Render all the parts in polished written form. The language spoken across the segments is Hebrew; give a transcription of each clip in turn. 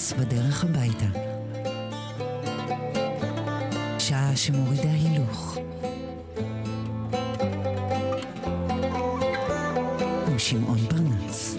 פרנס בדרך הביתה. שעה שמורידה הילוך. עם שמעון פרנס.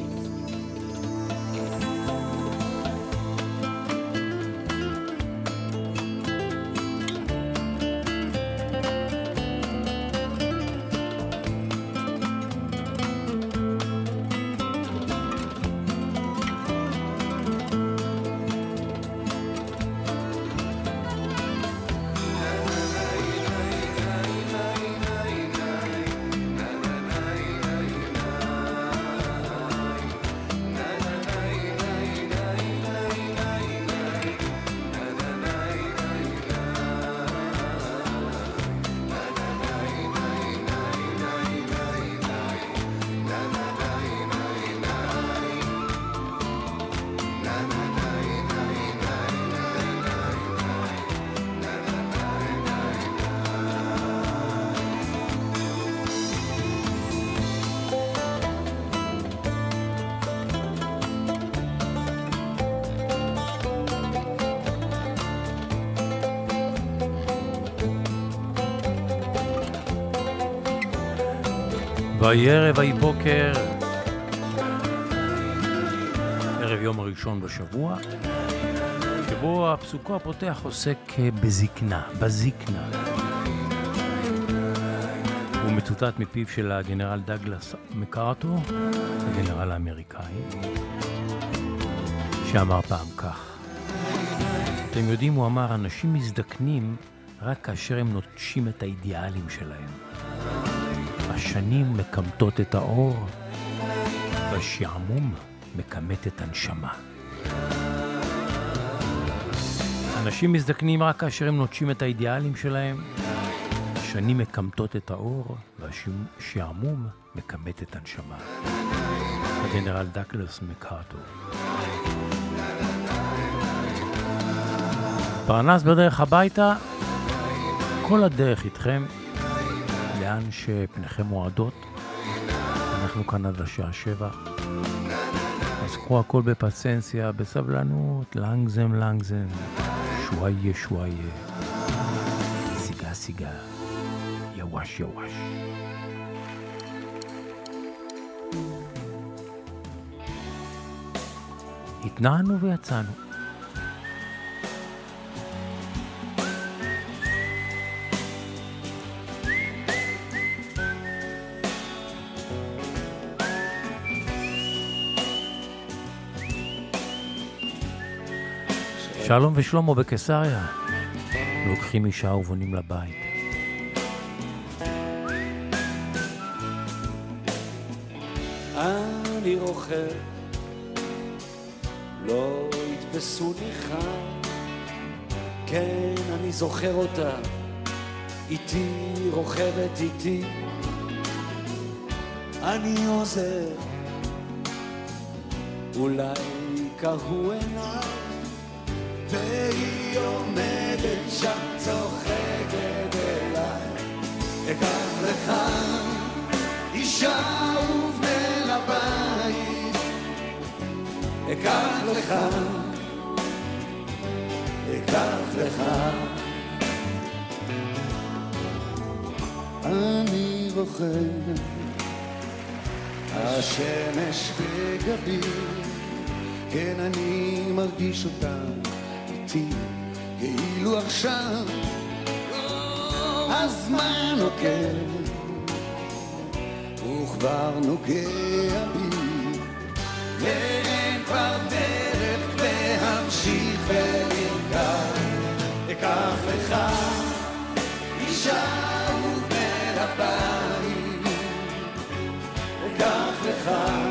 ויהי ערב ויהי בוקר, ערב יום הראשון בשבוע, שבו הפסוקו הפותח עוסק בזקנה, בזקנה. הוא מצוטט מפיו של הגנרל דאגלס מקארתור, הגנרל האמריקאי, שאמר פעם כך: אתם יודעים, הוא אמר, אנשים מזדקנים רק כאשר הם נוטשים את האידיאלים שלהם. השנים מקמטות את האור, והשעמום מקמת את הנשמה. אנשים מזדקנים רק כאשר הם נוטשים את האידיאלים שלהם. השנים מקמטות את האור, והשעמום מקמת את הנשמה. הגנרל דאגלס מקארתור. פרנס בדרך הביתה, כל הדרך איתכם. לאן שפניכם מועדות, אנחנו כאן עד השעה 7. אז קחו הכל בפסנסיה, בסבלנות, לנגזם, שוואיה, סיגה, יווש. התנענו ויצאנו. שלום ושלמה בקיסריה, לוקחים אישה ובונים לבית. אני רוכב, לא יתפסו ניחה, כן אני זוכר אותה, איתי רוכבת איתי, אני עוזר, אולי קהו עיניי, והיא עומדת שם צוחקת אליי. אקח לך אישה ובנה לבית, אקח לך אני רוכב, השמש בגבי, כן אני מרגיש אותה כאילו עכשיו הזמן עוקב וכבר נוגע בי, ואין כבר דרך להמשיך ולרכב. אקח לך אישה ובן הבית, אקח לך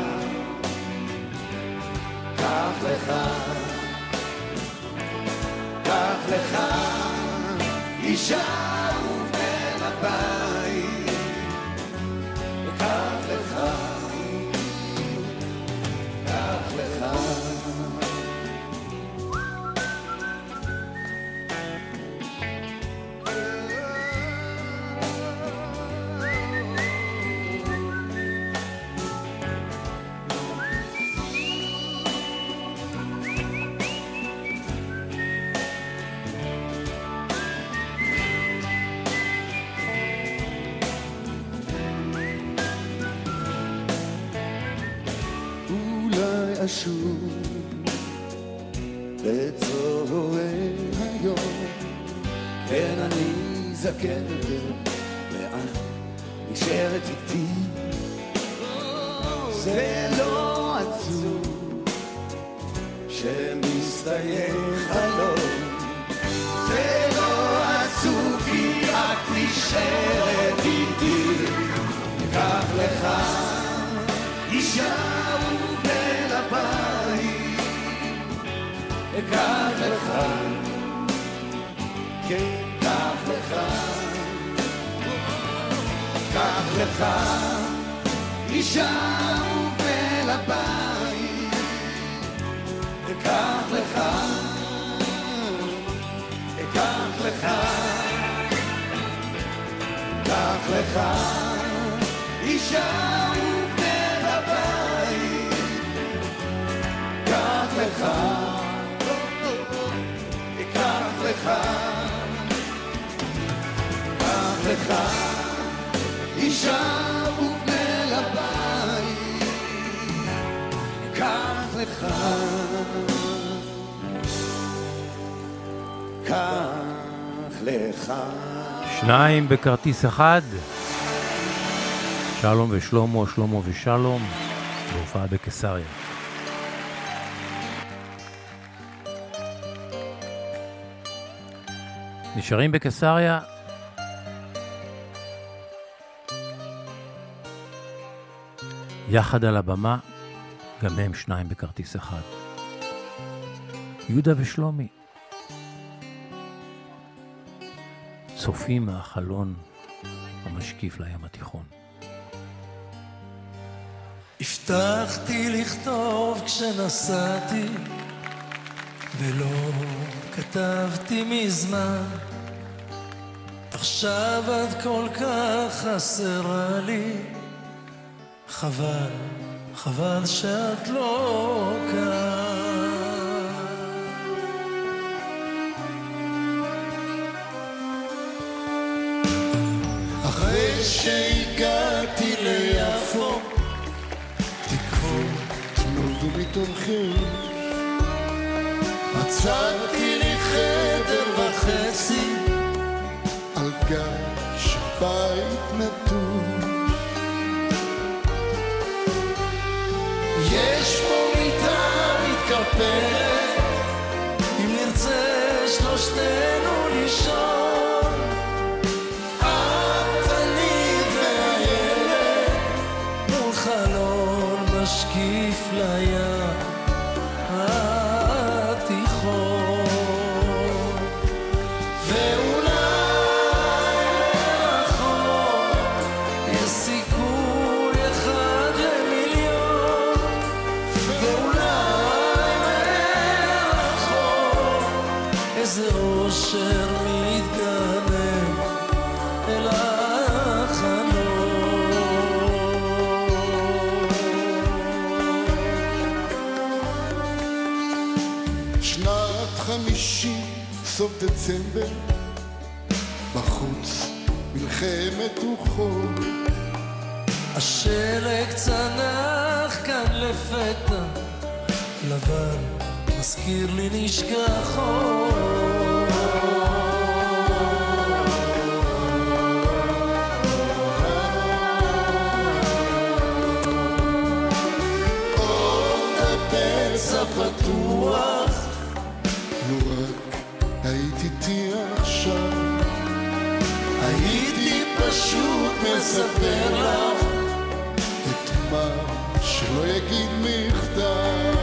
אישה ובן הבית, אקח לך פשוט בצהרי היום. כן, אני זקן יותר, לאן נשארת איתי? זה לא עצוב שמסתיים חלום, זה לא עצוב כי את נשארת איתי. קח לך אישה ובן הבית, קח לך, כן קח לך, קח לך אישה ובן הבית, קח לך, קח לך, קח לך אישה ובן הבית, קח לך, קח לך, קח לך אישה ובן הבית, קח לך, קח לך. שניים בכרטיס אחד, שלום ושלמה, שלמה ושלום, בהופעה בקיסריה. נשארים בקיסריה, יחד על הבמה, גם הם שניים בכרטיס אחד. יהודה ושלומי צופים מהחלון המשקיף לים התיכון. הבטחתי לכתוב כשנסעתי ולא כתבתי מזמן, עכשיו את כל כך חסרה לי, חבל, חבל שאת לא כאן. אחרי שהגעתי ליפו תקוות נולדו מתומכים, מצאתי לי חדר וחצי על גג של בית נטוש, יש פה מיטה מתקפלת, אם נרצה שלושתנו לישון, את, אני והילד מול חלון משקיף לים התיכון, ואולי מרחוק יש סיכוי אחד למיליון, ואולי מרחוק איזה אושר מתגנב אל החלום. שנת 50, סוף דצמבר, בחוץ מלחמת רוחות, השלג צנח כאן לפתע, לבן מזכיר לי נשכחות, עוד הפצע פתוח, לו רק היית איתי עכשיו, הייתי פשוט מספר לך את מה שלא יגיד מכתב.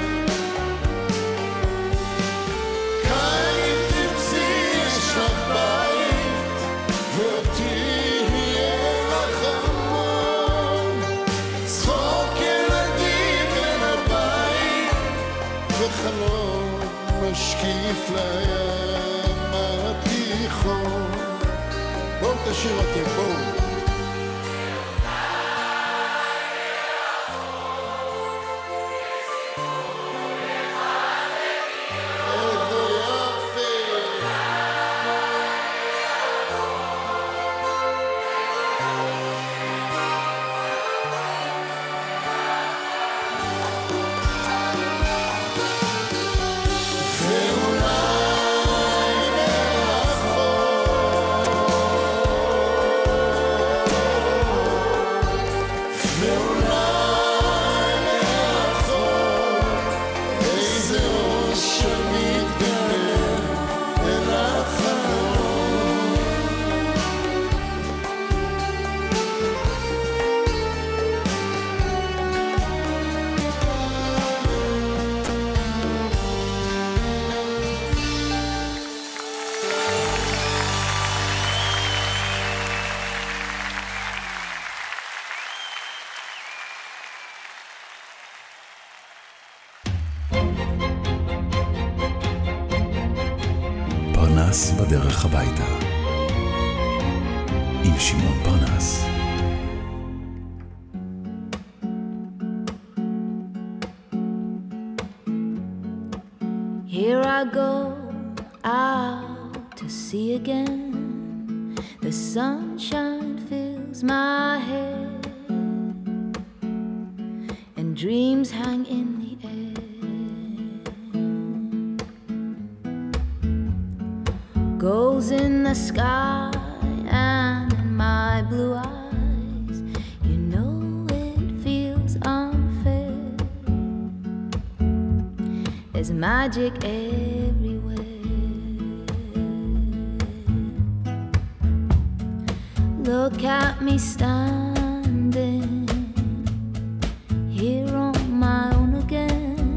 כאן אם תרצי יש לך בית, ואותי יהיה לך המון, צחוק ילדים בין הבית, וחלום משקיף לים התיכון. בואו תשאיר אותי, בואו. ואולי לאחור איזה אושר מתגלה אל החלום. פרנס בדרך הביתה עם שמעון פרנס. Here I go out to sea again. The sunshine fills my head and dreams hang in the air. Goals in the sky and in my blue eyes, you know it feels unfair. There's magic everywhere. Look at me standing here on my own again.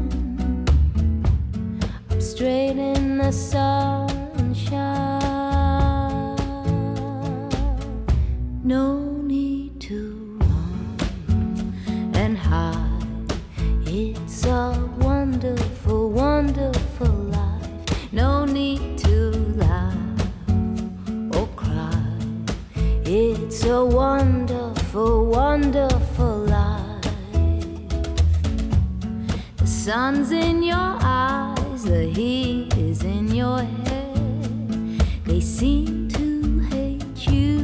I'm straight in the sunshine. No need to run and hide. It's a wonderful, wonderful life. No need to laugh or cry. It's a wonderful, wonderful life. The sun's in your eyes, the heat is in your head. They seem to hate you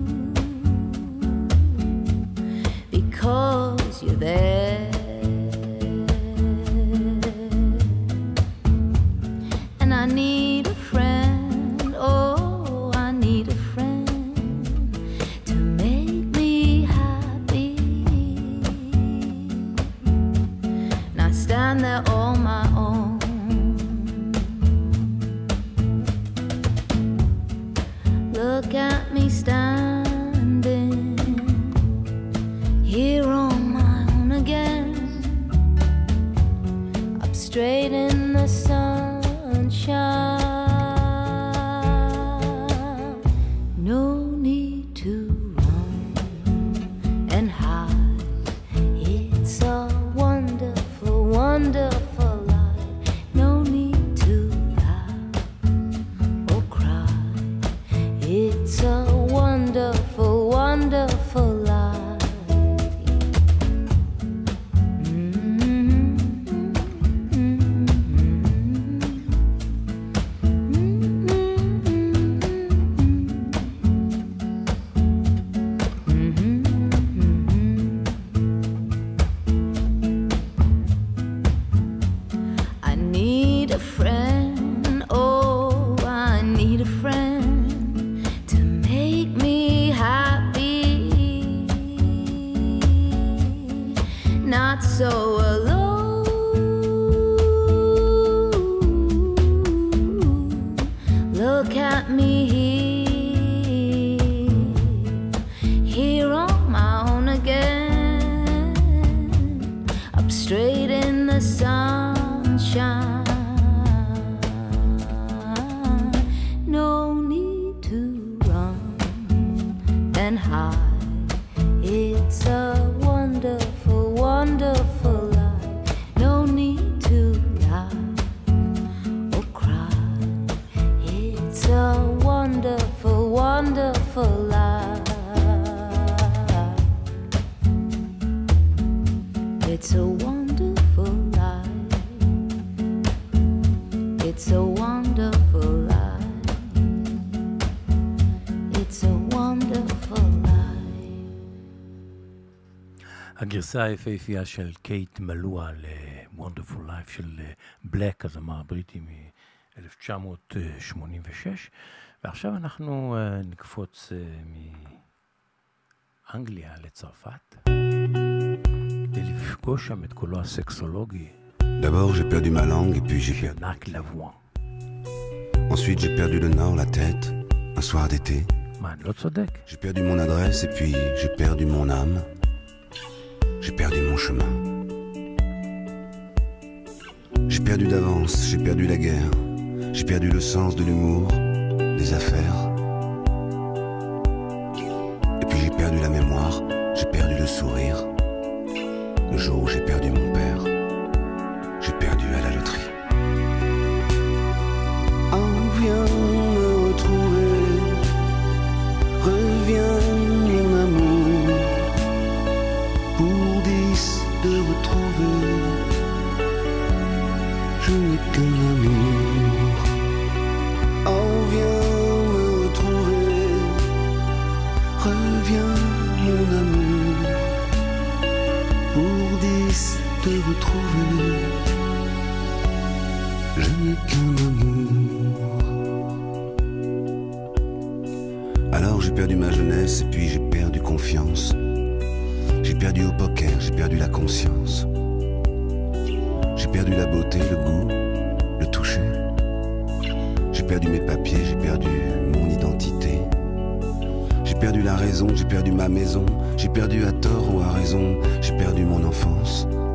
because you're there. And I need a friend, oh, I need a friend to make me happy. And I stand there on my own. Look at me standing here on my own again. Up straight in the sunshine. No need to run and hide. It's a wonderful, wonderful life. No need to laugh or cry. It's a wonderful, wonderful life. I need a friend, oh, I need a friend to make me happy, not so alone. Look at me here on my own again, up straight in the sunshine. No need to run and hide. It's a wonderful, wonderful life. No need to laugh or cry. It's a wonderful, wonderful life. It's a wonderful life. It's a wonderful life. It's a wonderful life. הגרסה היפהפייה של קייט מלואה ל-Wonderful Life של בלק, הזמר הבריטי מ-1986. ועכשיו אנחנו נקפוץ מאנגליה לצרפת. לפגוש שם את קולו הסקסולוגי. D'abord j'ai perdu ma langue et puis j'ai של perdu. מרק לבואן. Ensuite j'ai perdu le nord, la tête, un soir d'été. מה, אני לא צודק? J'ai perdu mon adresse et puis j'ai perdu mon âme. J'ai perdu mon chemin. J'ai perdu d'avance, j'ai perdu la guerre. J'ai perdu le sens de l'humour, des affaires. Et puis j'ai perdu la mémoire, j'ai perdu le sourire. Le jour où j'ai perdu mon père, j'ai perdu à la loterie. Oh, viens me retrouver, reviens mon amour, pour 10 de retrouver, je n'ai qu'un amour. Oh, viens me retrouver, reviens mon amour, pour 10 de retrouver, je n'ai qu'un amour. Alors j'ai perdu ma jeunesse et puis j'ai perdu confiance. J'ai perdu au poker, j'ai perdu la conscience. J'ai perdu la beauté, le goût, le toucher. J'ai perdu mes papiers, j'ai perdu mon identité. J'ai perdu la raison, j'ai perdu ma maison. J'ai perdu à tort ou à raison, j'ai perdu mon enfance.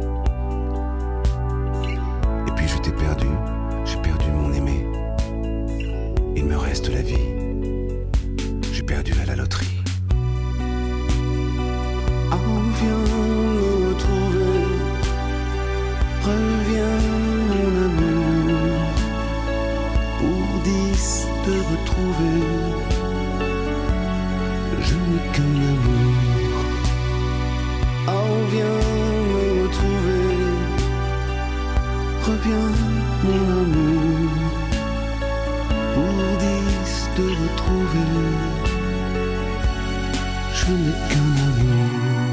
Et puis je t'ai perdu, j'ai perdu mon aimé. Il me reste la vie, j'ai perdu à la loterie. Oh, viens me retrouver, reviens mon amour, pour 10 te retrouver, je n'ai qu'un amour. Oh, viens me retrouver, reviens mon amour, pour 10 te retrouver, je n'ai qu'un amour.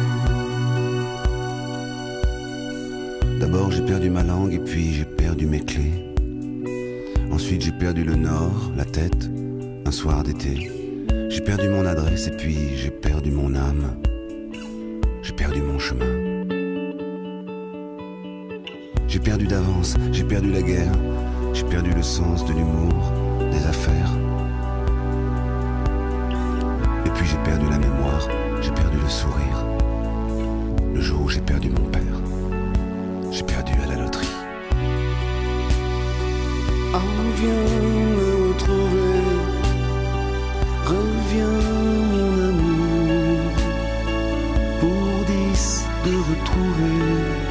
D'abord j'ai perdu ma langue et puis j'ai perdu mes clés. Ensuite j'ai perdu le nord, la tête, un soir d'été. J'ai perdu mon adresse et puis j'ai perdu mon âme. J'ai perdu mon chemin. J'ai perdu d'avance, j'ai perdu la guerre. J'ai perdu le sens de l'humour, des affaires. Et puis j'ai perdu la mémoire, j'ai perdu le sourire. Le jour où j'ai perdu mon père, j'ai perdu à la loterie. Oh, viens me retrouver, reviens mon amour, pour 10 de retrouver,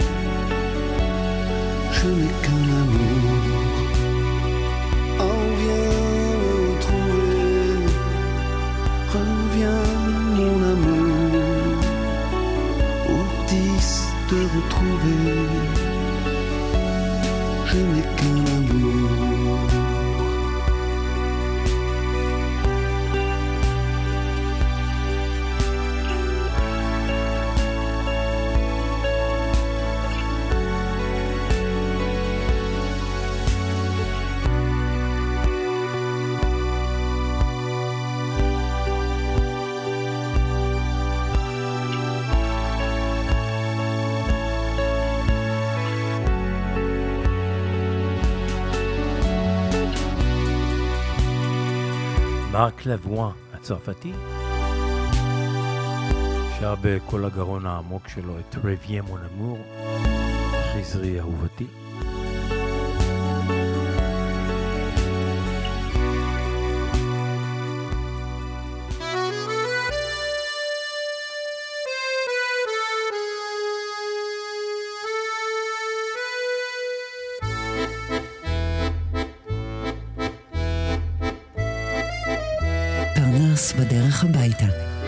je n'ai qu'un amour. Oh, viens me retrouver, reviens mon amour, pour 10 de retrouver, je n'ai qu'un amour. מרק לבואן הצרפתי שר בכל הגרון העמוק שלו את רבייה מון אמור, חזרי אהובתי. פרנס בדרך הביתה.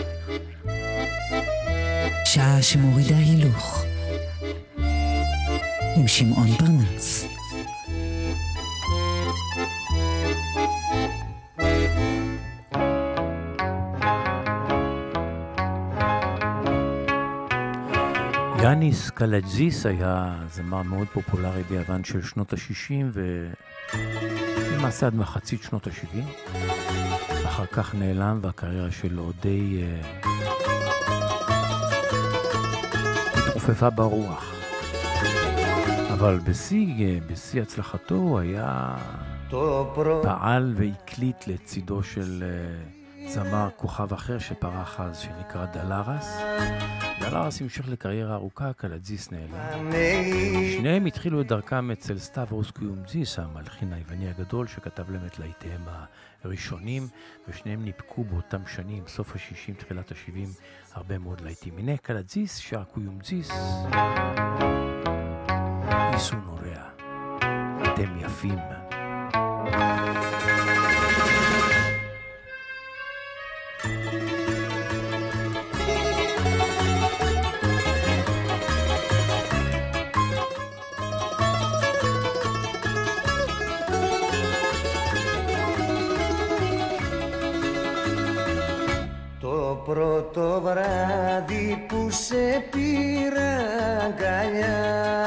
שעה שמורידה הילוך. עם שמעון פרנס. יאניס קלג'זיס היה זמר מאוד פופולרי ביוון של שנות ה-60 ולמעשה עד מחצית שנות ה-70. אחר כך נעלם והקריירה שלו די התרופפה ברוח. אבל בשיא הצלחתו הוא היה פעל והקליט לצידו של זמר כוכב אחר שפרח אז, שנקרא דלרס. דלרס המשיך לקריירה ארוכה, קלטזיס נעלם. שניהם התחילו את דרכם אצל סטאברוס קיומזיס, המלחין היווני הגדול שכתב להם את להיטיהם הראשונים, ושניהם ניפקו באותם שנים, סוף ה-60, תחילת ה-70, הרבה מאוד להיטים. הנה קלטזיס, שר קיומזיס. איסו נורא, אתם יפים. Το πρώτο βράδυ που σε πήρα αγκαλιά,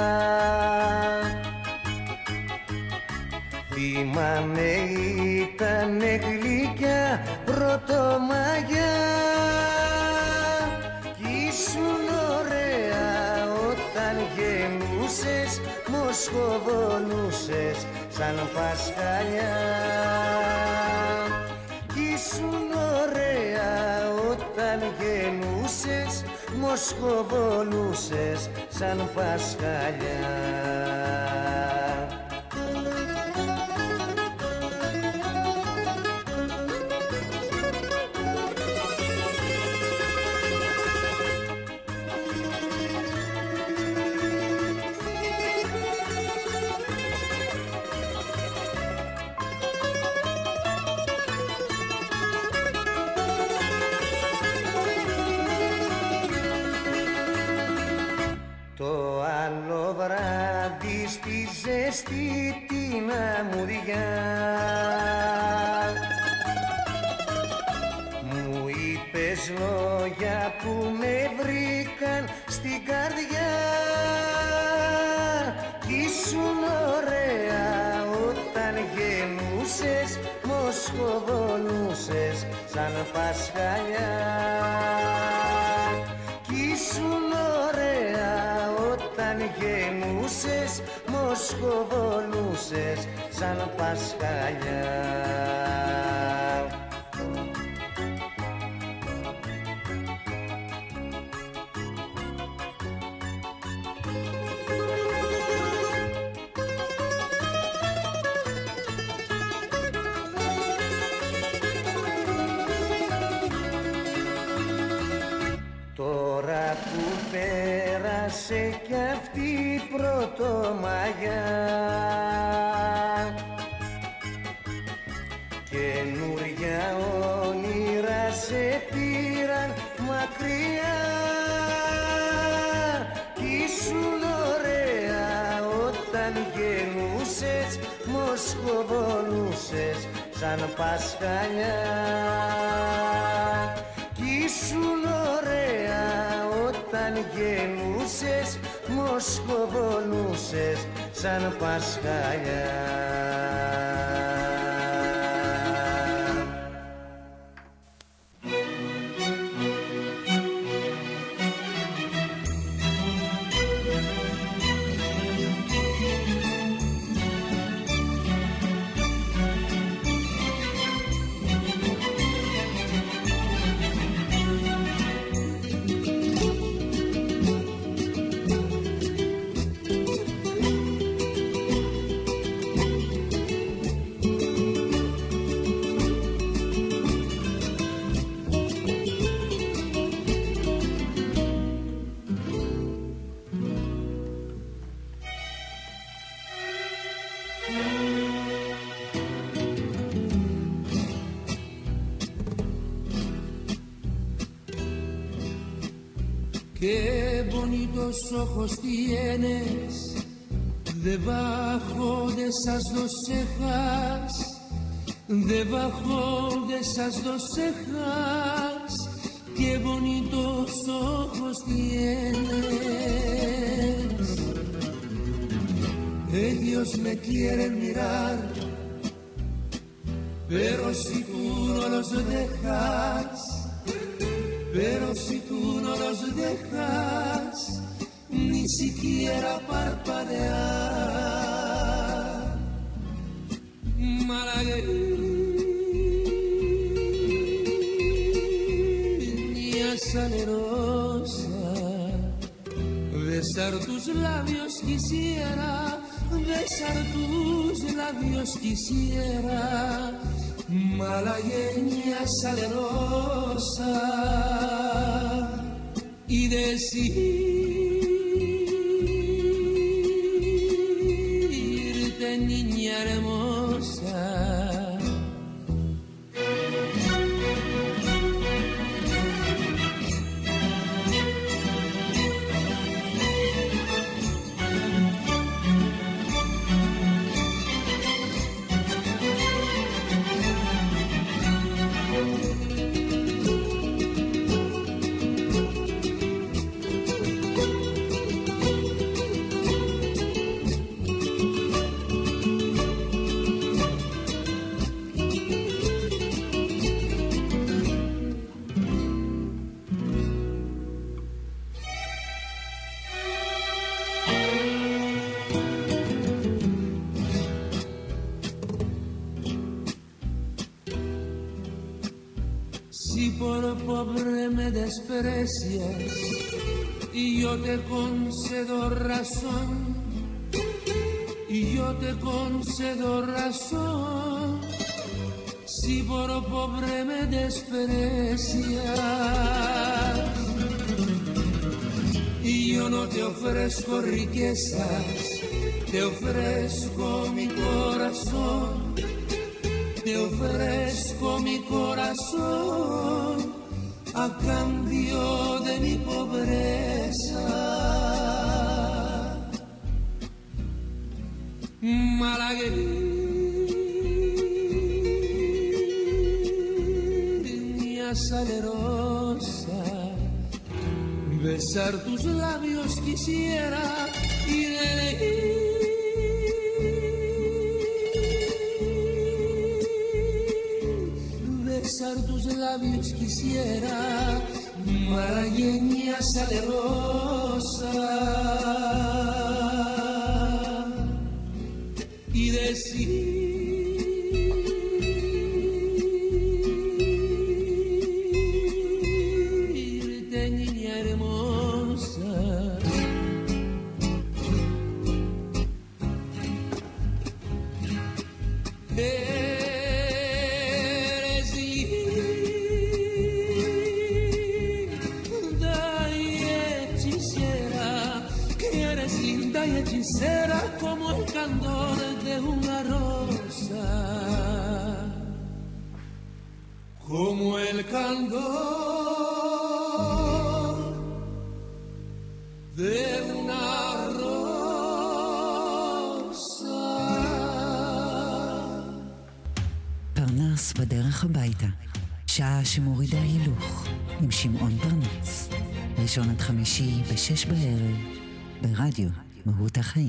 θυμάμαι ήτανε γλυκιά πρωτομαγιά, κι ήσουν ωραία όταν γεννούσες, μοσχοβολούσες σαν πασχαλιά. Κι ήσουν ωραία όταν γεννούσες, μοσχοβολούσες σαν πασχαλιά. Στη ζέστη την αμμουδιά μου είπες λόγια που με βρήκαν στην καρδιά, κι ήσουν ωραία όταν γεννούσες, μοσχοβολούσες σαν πασχαλιά. Κι ήσουν ωραία όταν γεννούσες, μοσχοβολούσες σαν πασχαλιά. Τώρα που πέρασε κι αυτή η πρωτομαγιά, καινούρια όνειρα σε πήραν μακριά, κι ήσουν ωραία όταν γεννούσες, μοσχοβολούσες σαν πασχαλιά. Κι ήσουν ωραία όταν γεννούσες, μοσχοβολούσες σαν πασχαλιά. Qué bonitos ojos tienes debajo de esas dos cejas, debajo de esas dos cejas. Qué bonitos ojos tienes. Ellos me quieren mirar, pero si tú no los dejas, pero si tú no los dejas, ni siquiera parpadear. salerosa, besar tus labios quisiera, besar tus labios quisiera, malagueña salerosa, y decirte, niña hermosa, si por pobre me desprecias y yo te concedo razón, y yo te concedo razón, si por pobre me desprecias y yo no te ofrezco riquezas, te ofrezco mi corazón, te ofrezco mi corazón a cambio de mi pobreza. Malagueña salerosa, besar tus labios quisiera y besar tus labios quisiera, malagueña salerosa, y decirte, niña hermosa, hechicera como el candor de una rosa, como el candor de una rosa. פרנס בדרך הביתה, שעה שמורידה הילוך, עם שמעון פרנס. ראשון עד חמישי ב-6 בערב, ברדיו מהות החיים.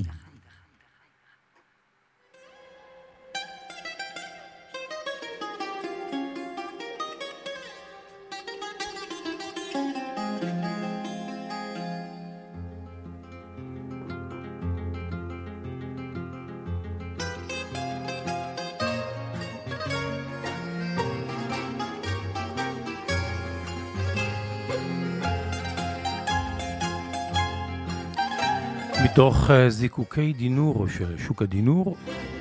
מתוך זיקוקי דינור של שוק הדינור,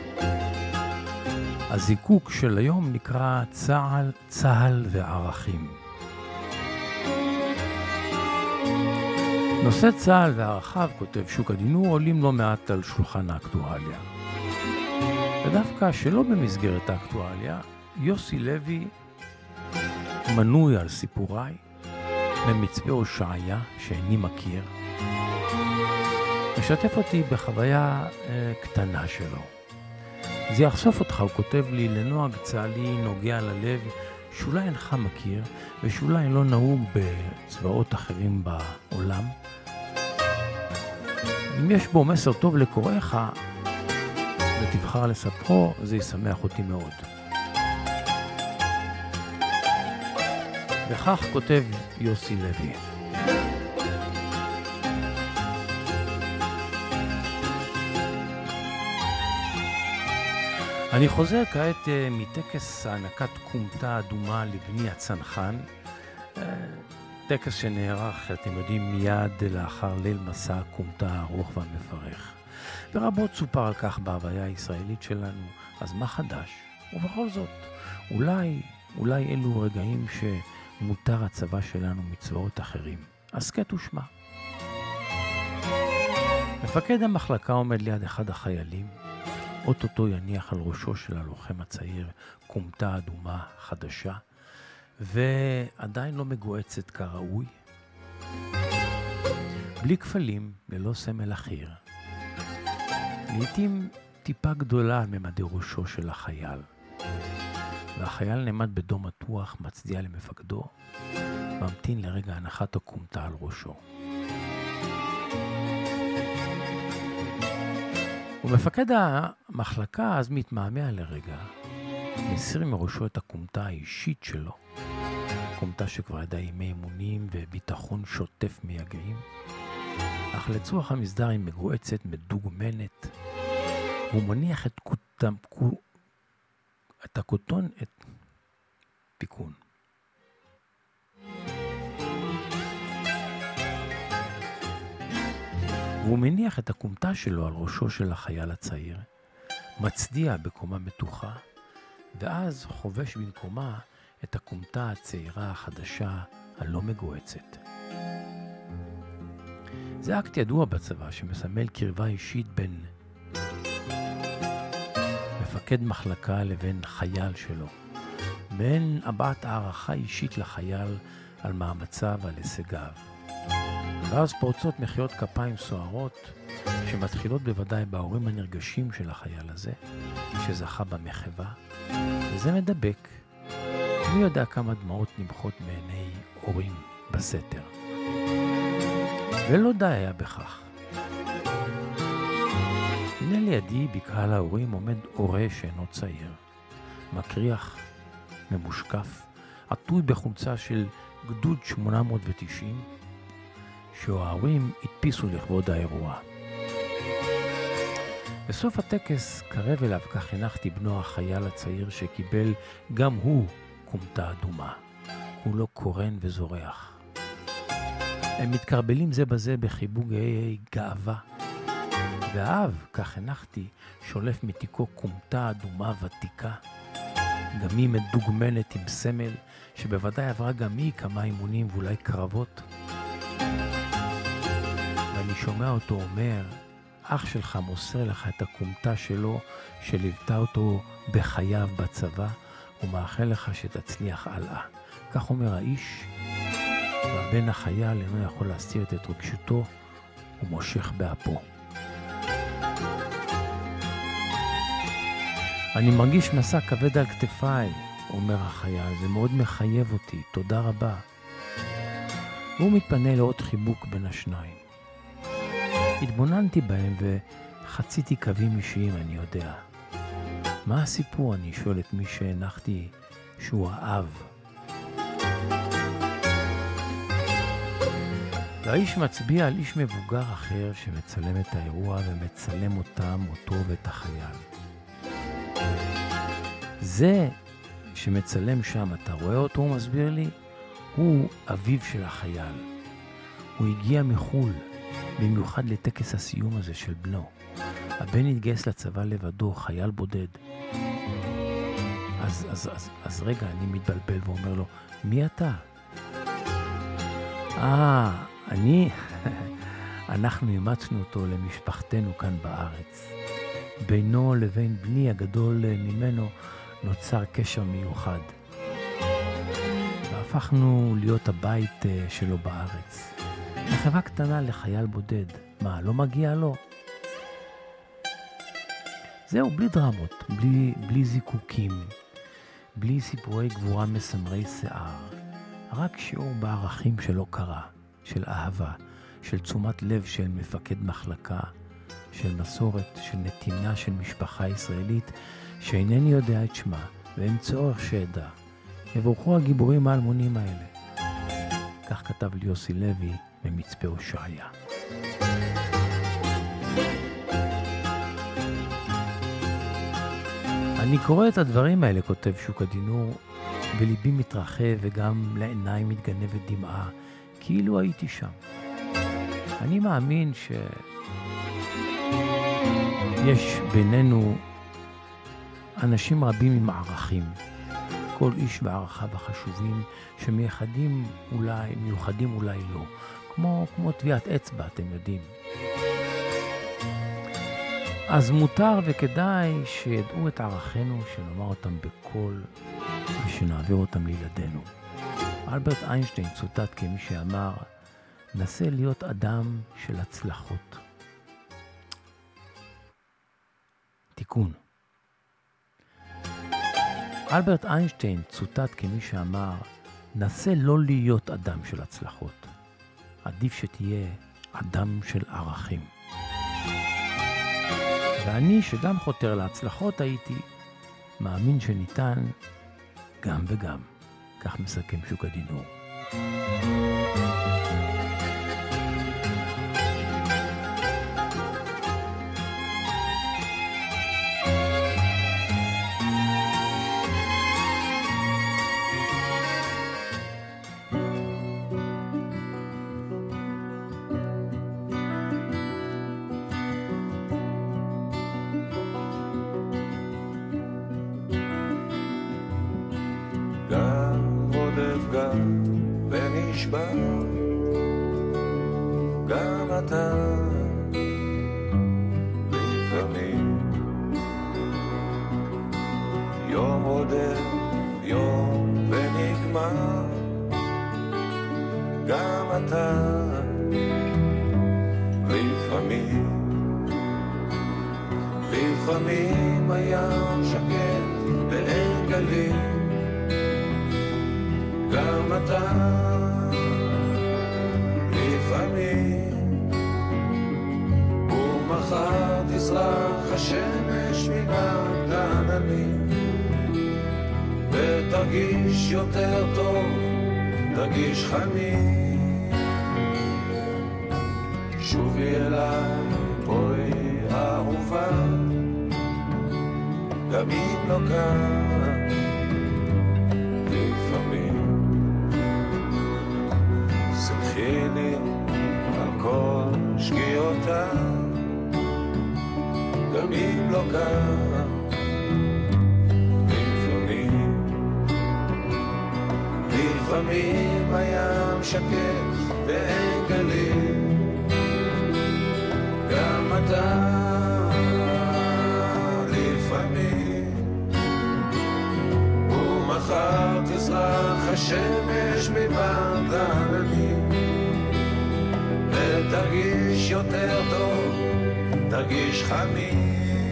הזיקוק של היום נקרא צהל וערכים. נושא צהל וערכיו, כותב שוק הדינור, עולים לא מעט על שולחן האקטואליה. ודווקא שלא במסגרת האקטואליה, יוסי לוי מנוי על סיפוריי ממצפה הושעיה שאיני מכיר, משתף אותי בחוויה קטנה שלו. זה יחשוף אותך, הוא כותב לי, לנועג צהלי נוגע ללב שאולי אינך מכיר ושאולי לא נהוג בצבאות אחרים בעולם. אם יש בו מסר טוב לקוראיך ותבחר לספרו, זה ישמח אותי מאוד. וכך כותב יוסי לוי. אני חוזר כעת מטקס הענקת קומתה אדומה לבני הצנחן. טקס שנערך, אתם יודעים, מיד לאחר ליל מסע הקומטה הארוך והמפרך. ורבות סופר על כך בהוויה הישראלית שלנו, אז מה חדש? ובכל זאת, אולי אלו רגעים שמותר הצבא שלנו מצבאות אחרים. אז קט ושמע. מפקד המחלקה עומד ליד אחד החיילים, אוטוטו יניח על ראשו של הלוחם הצעיר קומטה אדומה חדשה, ועדיין לא מגועצת כראוי, בלי כפלים, ללא סמל אחיר. לעתים טיפה גדולה על ממדי ראשו של החייל, והחייל נעמד בדום מתוח, מצדיע למפקדו, ממתין לרגע הנחת הקומטה על ראשו. ומפקד המחלקה אז מתמהמה לרגע, מסיר מראשו את הקומטה האישית שלו, קומטה שכבר ידעה ימי אימונים וביטחון שוטף מייגעים, אך לצורך המסדר היא מגועצת, מדוגמנת, והוא מניח את הקוטון, את פיקון. והוא מניח את הקומטה שלו על ראשו של החייל הצעיר, מצדיע בקומה מתוחה, ואז חובש במקומה את הקומטה הצעירה החדשה הלא מגועצת. זה אקט ידוע בצבא שמסמל קרבה אישית בין מפקד מחלקה לבין חייל שלו, בין הבעת הערכה אישית לחייל על מאמציו ועל הישגיו. ואז פורצות מחיאות כפיים סוערות שמתחילות בוודאי בהורים הנרגשים של החייל הזה שזכה במחווה, וזה מדבק. מי יודע כמה דמעות נמחות מעיני הורים בסתר. ולא די היה בכך. הנה לידי בקהל ההורים עומד הורה שאינו צעיר, מקריח, ממושקף, עטוי בחולצה של גדוד 890, שההורים הדפיסו לכבוד האירוע. בסוף הטקס קרב אליו, כך הנחתי בנו החייל הצעיר שקיבל גם הוא קומטה אדומה. הוא לא קורן וזורח. הם מתקרבלים זה בזה בחיבוק גאווה. והאב, כך הנחתי, שולף מתיקו קומטה אדומה ותיקה. גם היא מדוגמנת עם סמל, שבוודאי עברה גם היא כמה אימונים ואולי קרבות. ואני שומע אותו אומר, אח שלך מוסר לך את הקומטה שלו, שליוותה אותו בחייו בצבא, ומאחל לך שתצליח הלאה. כך אומר האיש, והבן החייל אינו יכול להסתיר את התרגשותו, ומושך באפו. אני מרגיש מסע כבד על כתפיי, אומר החייל, זה מאוד מחייב אותי, תודה רבה. והוא מתפנה לעוד חיבוק בין השניים. התבוננתי בהם וחציתי קווים אישיים, אני יודע. מה הסיפור? אני שואל את מי שהנחתי שהוא האב. והאיש מצביע על איש מבוגר אחר שמצלם את האירוע ומצלם אותם, אותו ואת החייל. זה שמצלם שם, אתה רואה אותו, הוא מסביר לי, הוא אביו של החייל. הוא הגיע מחול, במיוחד לטקס הסיום הזה של בנו. הבן התגייס לצבא לבדו, חייל בודד. אז רגע, אני מתבלבל ואומר לו, מי אתה? אנחנו אימצנו אותו למשפחתנו כאן בארץ. בינו לבין בני הגדול ממנו נוצר קשר מיוחד. והפכנו להיות הבית שלו בארץ. מחווה קטנה לחייל בודד. מה, לא מגיע לו? זהו, בלי דרמות, בלי זיקוקים, בלי סיפורי גבורה מסמרי שיער. רק שיעור בערכים שלא קרה, של אהבה, של תשומת לב של מפקד מחלקה, של מסורת, של נתינה של משפחה ישראלית, שאינני יודע את שמה, ואין צורך שידע. יבורכו הגיבורים האלמונים האלה. כך כתב לי יוסי לוי ממצפה הושעיה. אני קורא את הדברים האלה, כותב שוק הדינור, וליבי מתרחב וגם לעיניים מתגנבת דמעה, כאילו הייתי שם. אני מאמין שיש בינינו אנשים רבים עם ערכים, כל איש וערכיו החשובים, שמייחדים אולי, מיוחדים אולי לא, כמו טביעת אצבע, אתם יודעים. אז מותר וכדאי שידעו את ערכינו, שנאמר אותם בקול ושנעביר אותם לילדינו. אלברט איינשטיין צוטט כמי שאמר, נסה להיות אדם של הצלחות. תיקון. אלברט איינשטיין צוטט כמי שאמר, נסה לא להיות אדם של הצלחות. עדיף שתהיה אדם של ערכים. ואני שגם חותר להצלחות הייתי, מאמין שניתן גם וגם. כך מסכם שוק הדינור. גם אתה לפעמים יום רודף יום ונגמר גם אתה לפעמים הים שקט ואין גלים גם אתה לפעמים ומחר תזרח השמש מן העננים ותרגיש יותר טוב, תרגיש חמים שובי אליי בואי אהובה גם אם לא כאן לפעמים סלחי לי על כל שגיאותיי גם אם לא כאן לפעמים הים שקט ואין גלים גם אתה לפעמים ומחר תזרח השמש מבעד לעננים ותרגיש יותר טוב, תרגיש חמים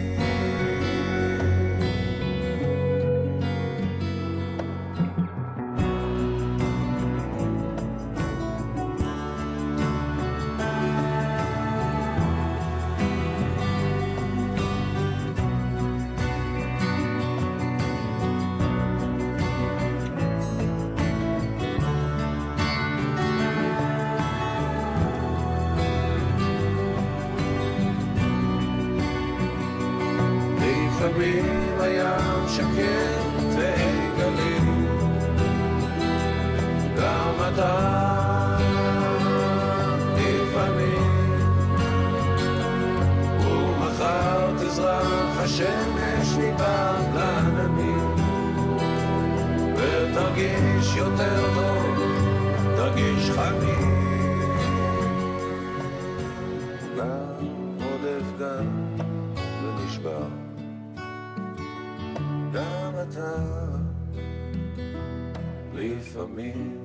לפעמים הים שקט ואין גלים גם אתה לפעמים ומחר תזרח השמש מבעד לעננים ותרגיש יותר טוב, תרגיש חמים גם עודף גם ונשבר גם אתה לפעמים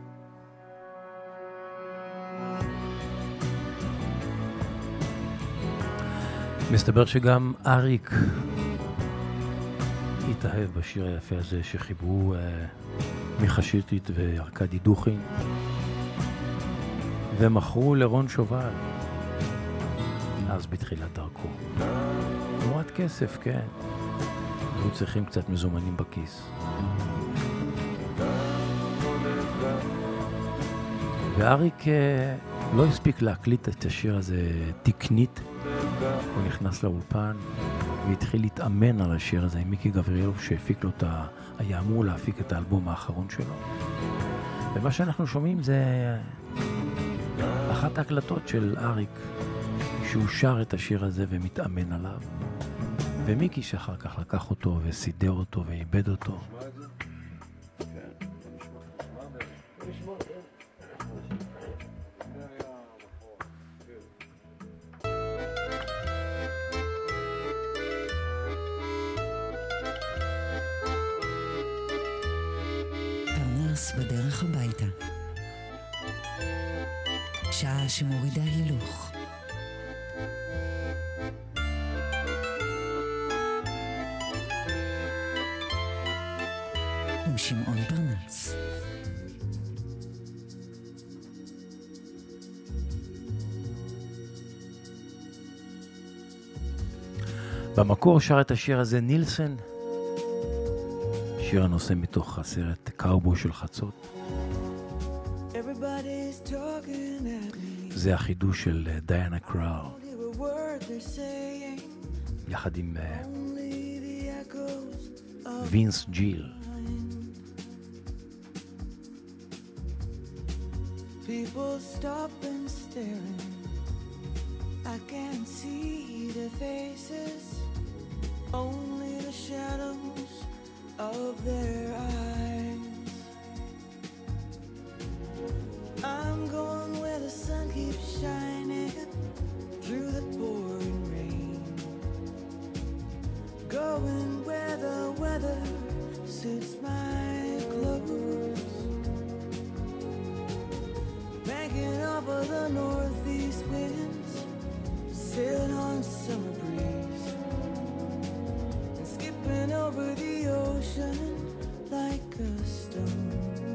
מסתבר שגם אריק התאהב בשיר היפה הזה שחיברו מיכה שטרית וארקדי דוכין ומכרו לרון שובל אז בתחילת דרכו תמורת כסף, כן היו צריכים קצת מזומנים בכיס ואריק לא הספיק להקליט את השיר הזה תקנית הוא נכנס לאולפן והתחיל להתאמן על השיר הזה עם מיקי גבריאלוב שהפיק לו היה אמור להפיק את האלבום האחרון שלו ומה שאנחנו שומעים זה אחת ההקלטות של אריק, שהוא שר את השיר הזה ומתאמן עליו, ומיקי שאחר כך לקח אותו וסידר אותו ואיבד אותו. פרנס בדרך הביתה, שעה שמורידה הילוך. עם שמעון פרנס. במקור שר את השיר הזה נילסן, שיר הנושא מתוך הסרט קאובוי של חצות. זה החידוש של דיינה קראו, יחד עם וינס ג'יל. People stop and staring. I can't see their faces, only the shadows of their eyes. I'm going where the sun keeps shining through the pouring rain, going where the weather suits my clothes, banking off of the northeast winds, sailing on summer breeze, and skipping over the ocean like a stone.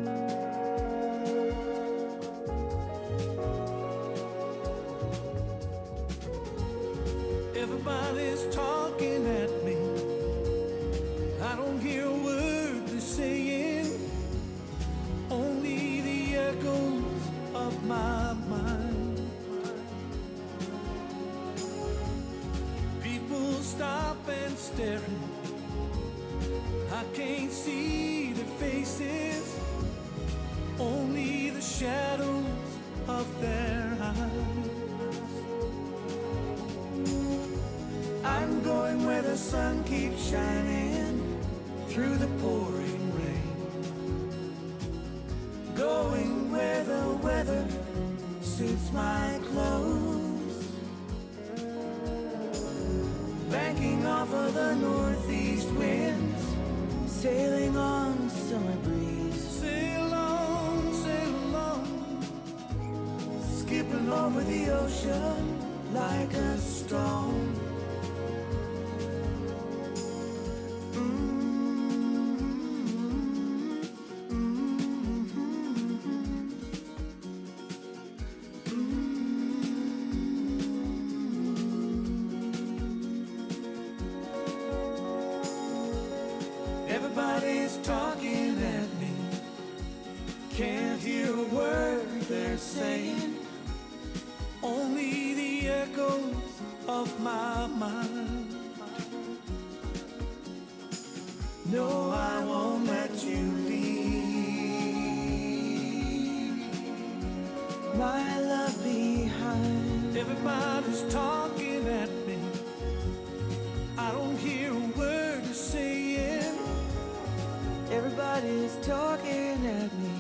Everybody's talking at me, I don't hear a word they're saying, only the echoes of my mind. People stop and staring, I can't see their faces, only the shadows of their eyes. I'm going where the sun keeps shining through the pouring rain, going where the weather suits my clothes, banking off of the northeast winds, sailing on summer breeze. Sail on, skipping over the ocean like a storm. Everybody's talking at me, can't hear a word they're saying, only the echoes of my mind. No, I won't let you leave my love behind. Everybody's talking at me, I don't hear a word they're saying. Everybody's talking at me,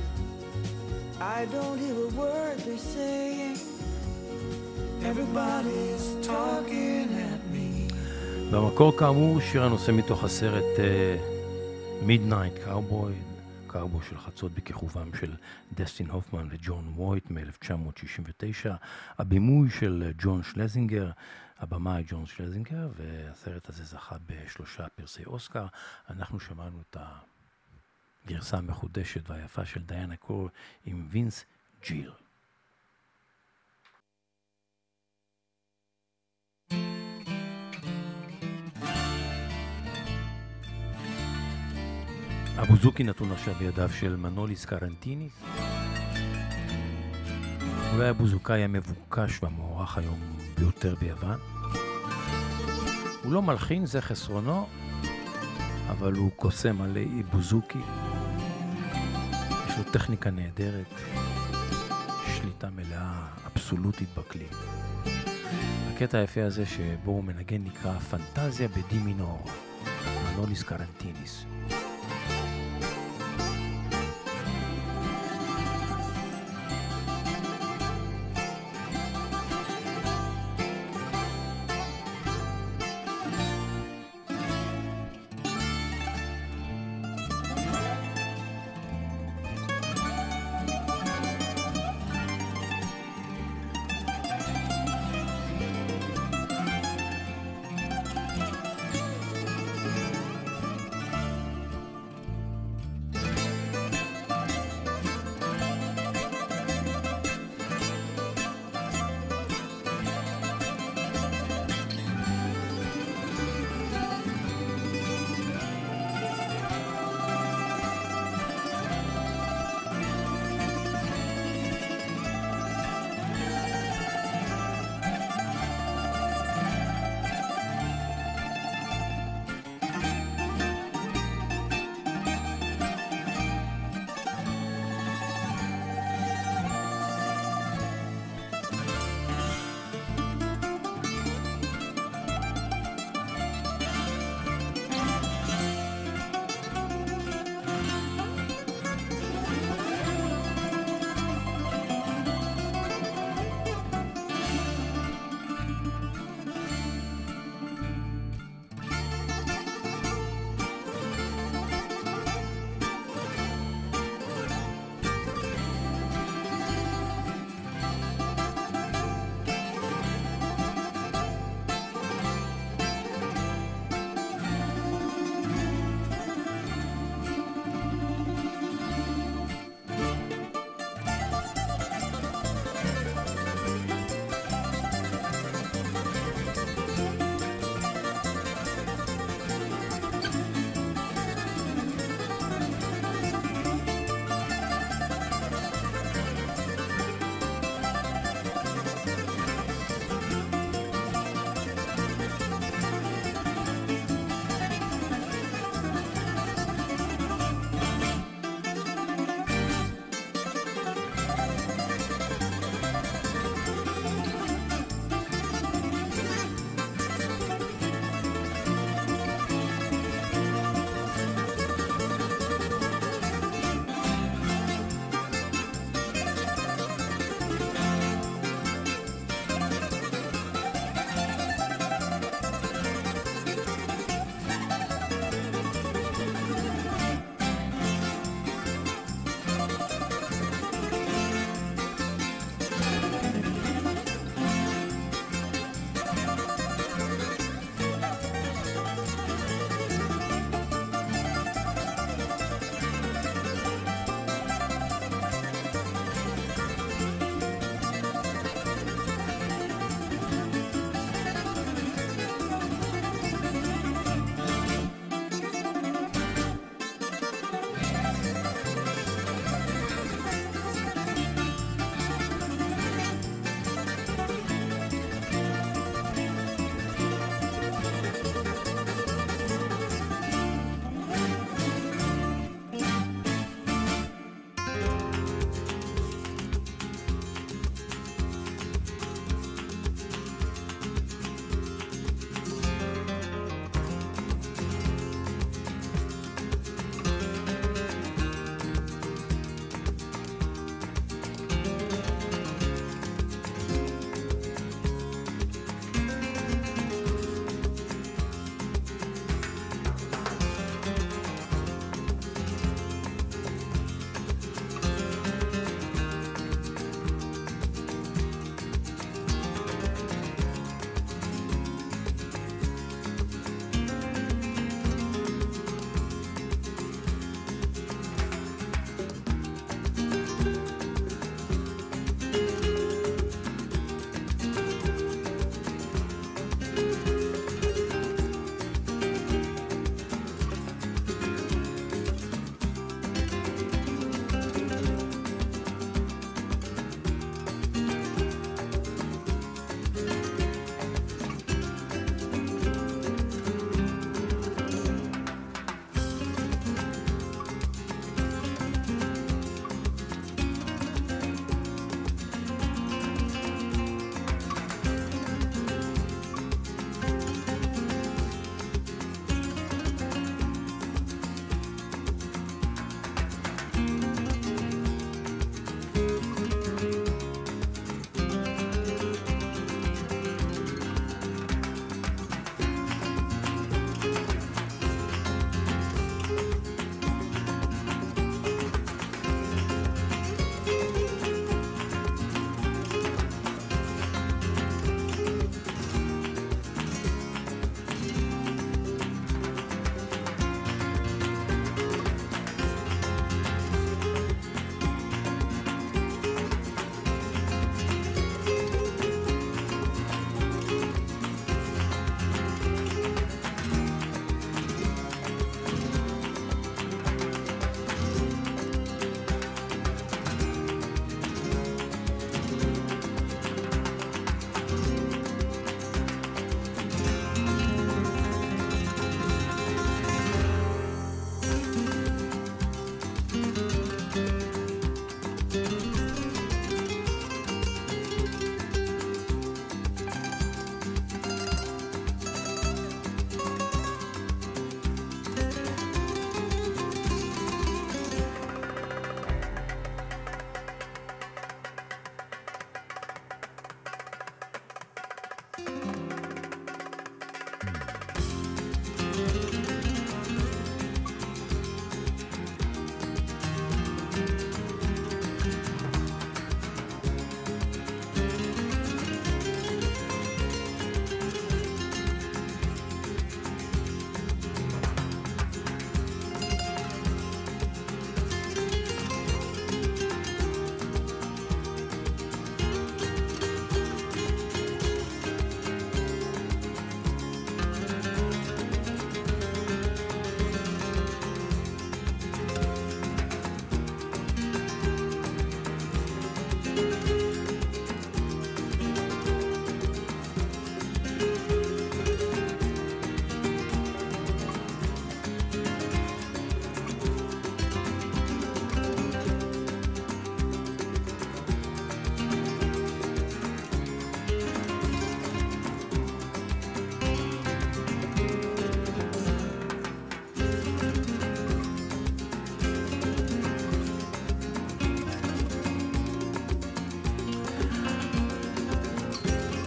I don't hear a word they're saying. Everybody's talking at me. במקור כאמור שיר הנושא מתוך הסרט Midnight Cowboy, קאובוי של חצות, בכיכובם של דסטין הופמן וג'ון וויט מ-1969, הבימוי של ג'ון שלזינגר, הבמאי ג'ון שלזינגר, והסרט הזה זכה ב3 פרסי אוסקר. אנחנו שמענו את הגרסה המחודשת והיפה של דיינה קראו עם וינס ג'יל. הבוזוקי נתון עכשיו בידיו של מנוליס קרנטיניס. אולי הבוזוקאי המבוקש והמוערך היום ביותר ביוון. הוא לא מלחין, זה חסרונו, אבל הוא קוסם מלא בוזוקי. יש זו טכניקה נהדרת, שליטה מלאה, אבסולוטית בכלי. הקטע היפה הזה שבו הוא מנגן נקרא פנטזיה בדי מינור, מנוליס קרנטיניס.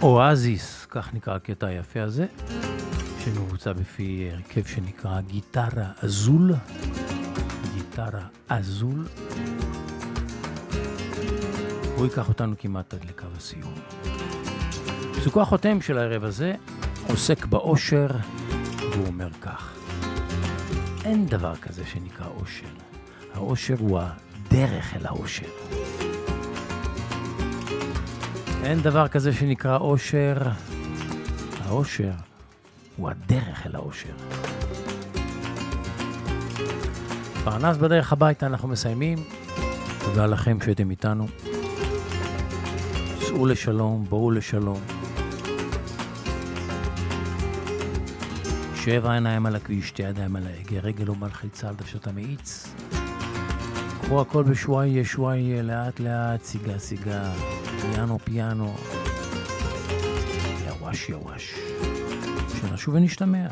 אואזיס, כך נקרא הקטע היפה הזה, שמבוצע בפי הרכב שנקרא גיטרה אזול. גיטרה אזול. הוא ייקח אותנו כמעט עד לקו הסיום. פסוקו החותם של הערב הזה עוסק באושר, והוא אומר כך: אין דבר כזה שנקרא אושר. האושר הוא הדרך אל האושר. אין דבר כזה שנקרא אושר. האושר הוא הדרך אל האושר. פרנס בדרך הביתה אנחנו מסיימים. תודה לכם שהייתם איתנו. סעו לשלום, בואו לשלום. 7 עיניים על הכביש, 2 ידיים על ההגה, רגל ומלחיצה על דוושת המאיץ. קחו הכל בשוואיה, שוואיה, לאט לאט, סיגה סיגה, פיאנו פיאנו. יווש יווש. שנשוב ונשתמע.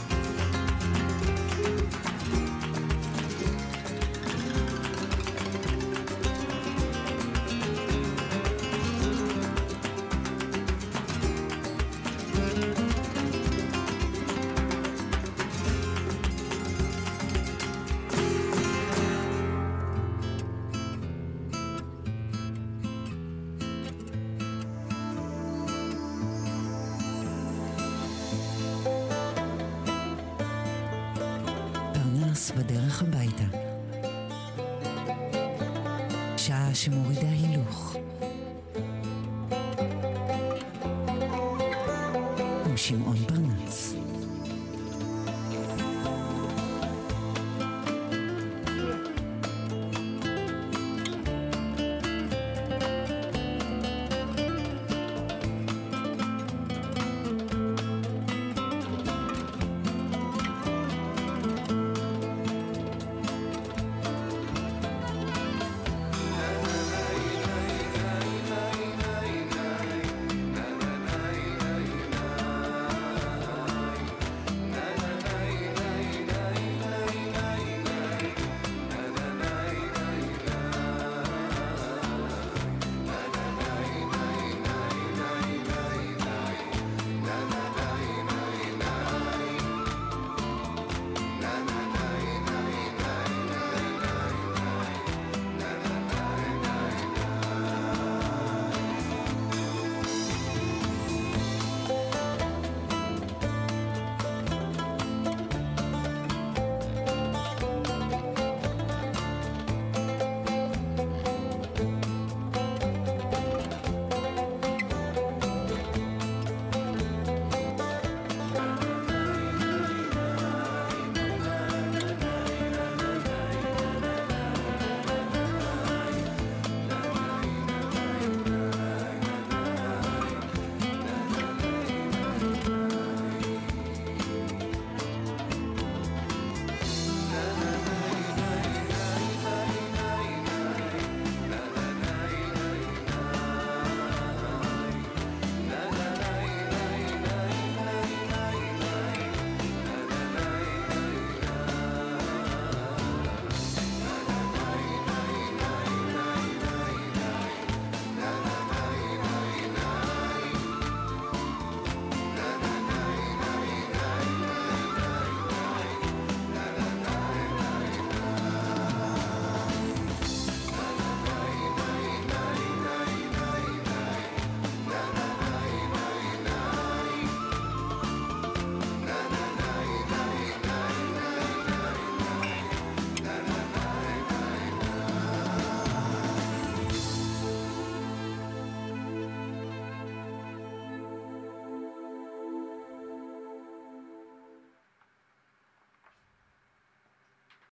בדרך הביתה. שעה שמורידה הילוך. עם שמעון פרנס.